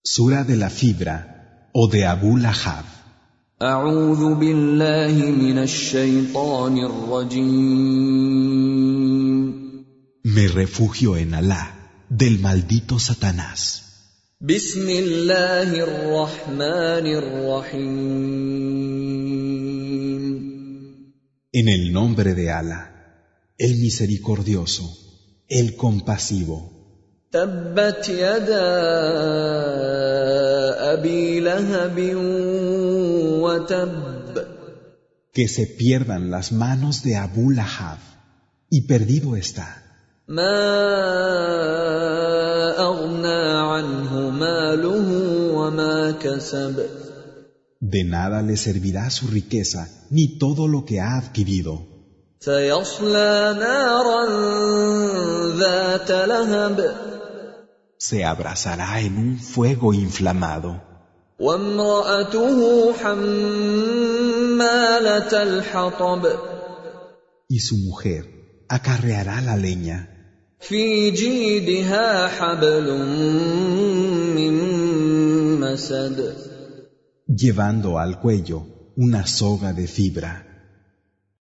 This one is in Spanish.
Sura de la fibra o de Abu Lahab. أعوذ بالله من الشيطان الرجيم. Me refugio en Alá, del maldito Satanás. بسم الله الرحمن الرحيم. En el nombre de Alá, el misericordioso, el compasivo. تبت يدا أبي لهب وتب. Que se pierdan las manos de Abu Lahab, y perdido está. ما أغنى عنه ماله وما كسب. De nada le servirá su riqueza, ni todo lo que ha adquirido. سيصلى نارا ذات لهب. Se abrazará en un fuego inflamado. وامرأته حمالة الحطب. Y su mujer acarreará la leña. في جيدها حبل من مسد. Llevando al cuello una soga de fibra.